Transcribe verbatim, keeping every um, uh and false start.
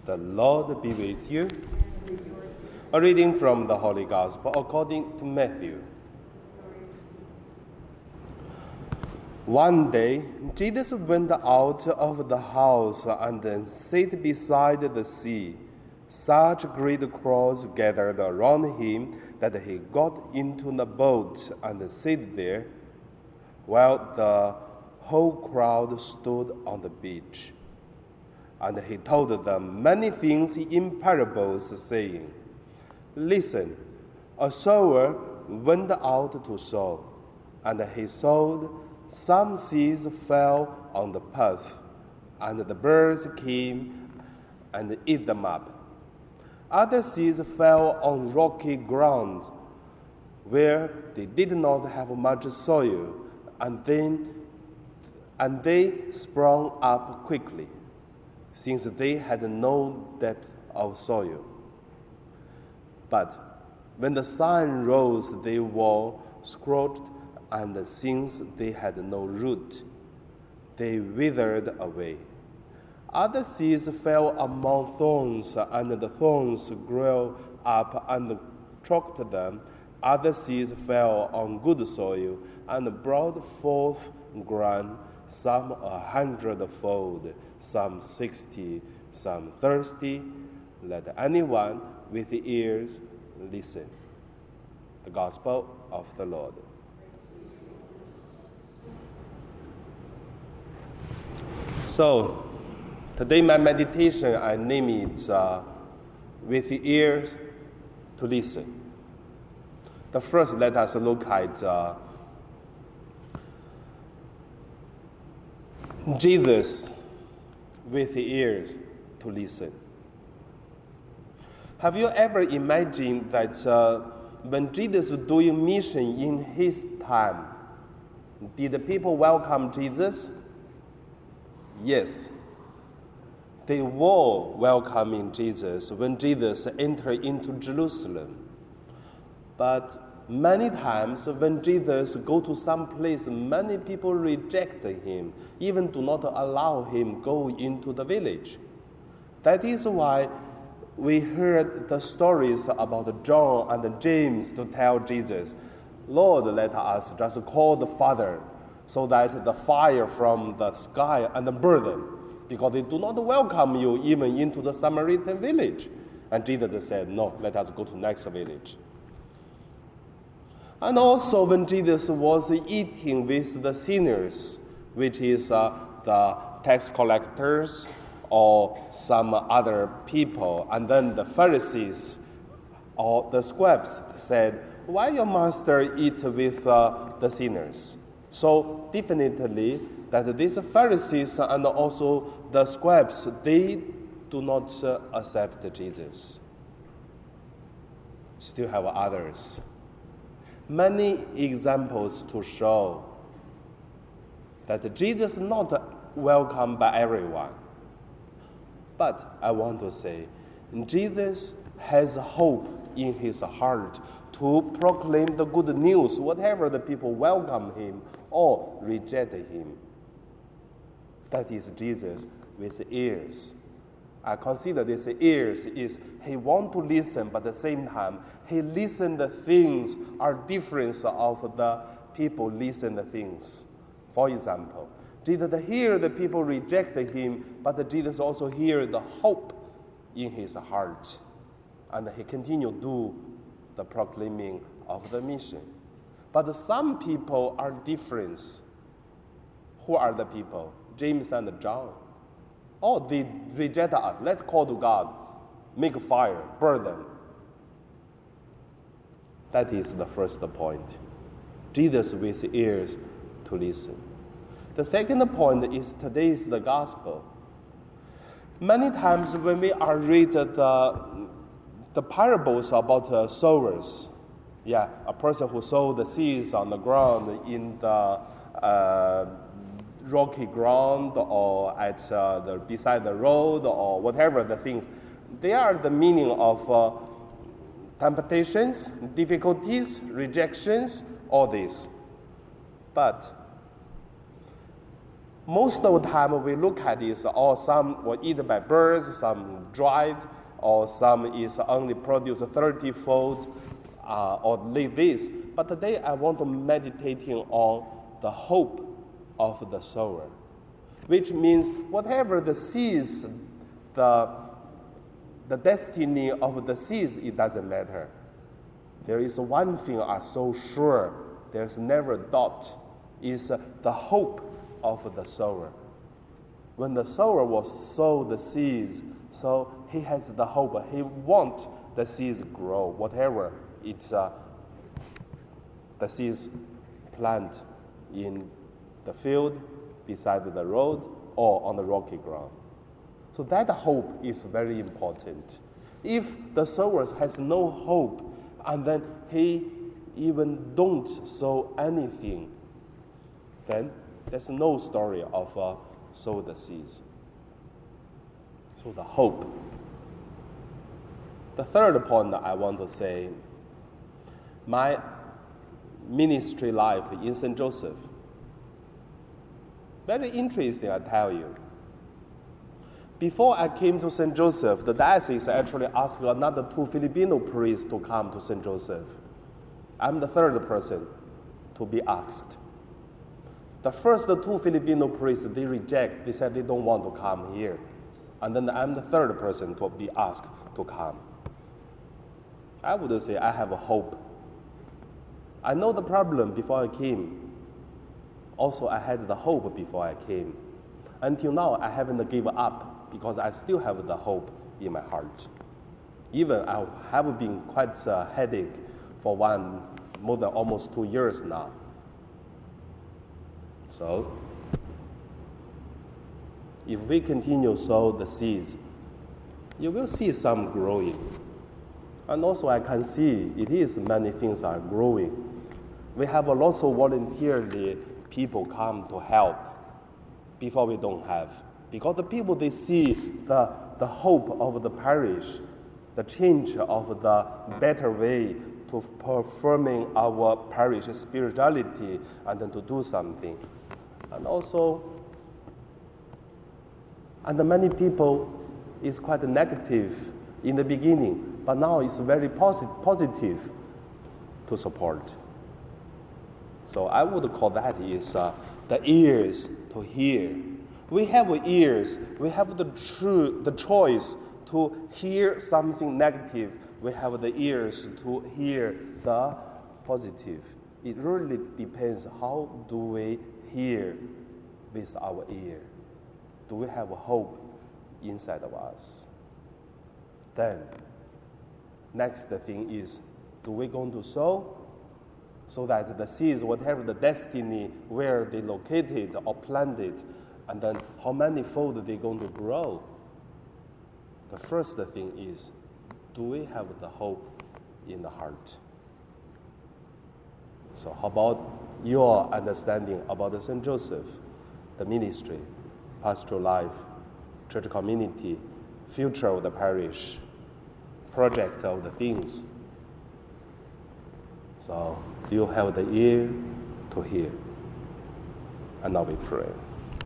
The Lord be with you. A reading from the Holy Gospel according to Matthew. One day, Jesus went out of the house and then sat beside the sea. Such great crowds gathered around him that he got into the boat and sat there, while the whole crowd stood on the beach. And he told them many things in parables, saying, Listen, a sower went out to sow, and he sowed. Some seeds fell on the path, and the birds came and ate them up. Other seeds fell on rocky ground, where they did not have much soil, and then and they sprung up quickly, since they had no depth of soil. But when the sun rose, they were scorched, and since they had no root, they withered away. Other seeds fell among thorns, and the thorns grew up and choked them. Other seeds fell on good soil and brought forth grain, some a hundredfold, some sixty, some thirty. Let anyone with ears listen. The Gospel of the Lord. So, today my meditation, I name it uh, With Ears to Listen. The first, let us look at uh, Jesus with ears to listen. Have you ever imagined that uh, when Jesus was doing mission in his time, did the people welcome Jesus? Yes. They were welcoming Jesus when Jesus entered into Jerusalem. But many times when Jesus go to some place, many people reject him, even do not allow him go into the village. That is why we heard the stories about John and James to tell Jesus, Lord, let us just call the Father so that the fire from the sky and burn them, because they do not welcome you even into the Samaritan village. And Jesus said, no, let us go to next village. And also when Jesus was eating with the sinners, which is uh, the tax collectors or some other people, and then the Pharisees or the scribes said, why your master eat with uh, the sinners? So definitely that these Pharisees and also the scribes, they do not uh, accept Jesus. Still have others. Many examples to show that Jesus is not welcomed by everyone. But I want to say, Jesus has hope in his heart to proclaim the good news, whatever the people welcome him or reject him. That is Jesus with ears. I consider this ears is he want to listen, but at the same time, he listen the things are different of the people listen the things. For example, Jesus hear the people reject him, but Jesus also hear the hope in his heart. And he continue do the proclaiming of the mission. But some people are different. Who are the people? James and John. Oh, they reject us. Let's call to God. Make fire, burn them. That is the first point. Jesus with ears to listen. The second point is today's the gospel. Many times when we are read the, the parables about uh, sowers, yeah, a person who sowed the seeds on the ground in the uh, rocky ground or at uh, the beside the road or whatever the things, they are the meaning of uh, temptations, difficulties, rejections, all this. But Most of the time we look at is all some were eaten by birds, some dried, or some is only produced thirty-fold, uh, or like this. But today I want to meditating on the hope of the sower, which means whatever the seeds, the, the destiny of the seeds, it doesn't matter. There is one thing I'm so sure, there's never doubt, is the hope of the sower. When the sower will sow the seeds, so he has the hope. He wants the seeds grow, whatever it's uh, the seeds plant in the field, beside the road, or on the rocky ground. So that hope is very important. If the sower has no hope, and then he even don't sow anything, then there's no story of uh, sow the seeds. So the hope. The third point I want to say, my ministry life in Saint Joseph. Very interesting, I tell you. Before I came to Saint Joseph, the diocese actually asked another two Filipino priests to come to Saint Joseph. I'm the third person to be asked. The first two Filipino priests, they reject. They said they don't want to come here. And then I'm the third person to be asked to come. I would say I have a hope. I know the problem before I came. Also, I had the hope before I came. Until now, I haven't given up because I still have the hope in my heart. Even I have been quite a headache for one, more than almost two years now. So, if we continue sow the seeds, you will see some growing. And also I can see it is many things are growing. We have a lot of voluntarily people come to help before we don't have. Because the people, they see the, the hope of the parish, the change of the better way to performing our parish spirituality and then to do something. And also, and many people is quite negative in the beginning, but now it's very posit- positive to support. So I would call that is uh, the ears to hear. We have ears. We have the true, the choice to hear something negative. We have the ears to hear the positive. It really depends how do we hear with our ear. Do we have hope inside of us? Then, next thing is, do we going to sow? So that the seeds, whatever the destiny, where they located or planted, and then how many fold they going to grow? The first thing is, do we have the hope in the heart? So how about your understanding about the Saint Joseph, the ministry, pastoral life, church community, future of the parish, project of the things? So do you have the ear to hear? And now we pray.